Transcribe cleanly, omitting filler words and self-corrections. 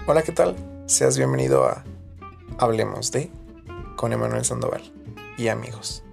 Hola, ¿qué tal? Seas bienvenido a Hablemos de con Emanuel Sandoval y amigos.